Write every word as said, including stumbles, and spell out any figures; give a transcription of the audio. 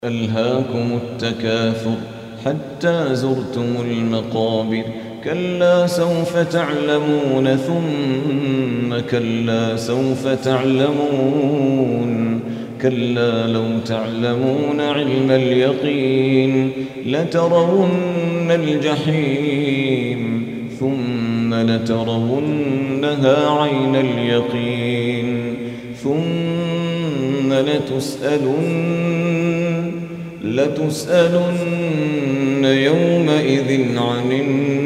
ألهاكم التكاثر حتى زرتم المقابر كلا سوف تعلمون ثم كلا سوف تعلمون كلا لو تعلمون علم اليقين لترون الجحيم ثم لترونها عين اليقين ثم لتسألن لتسألن يومئذ عن النعيم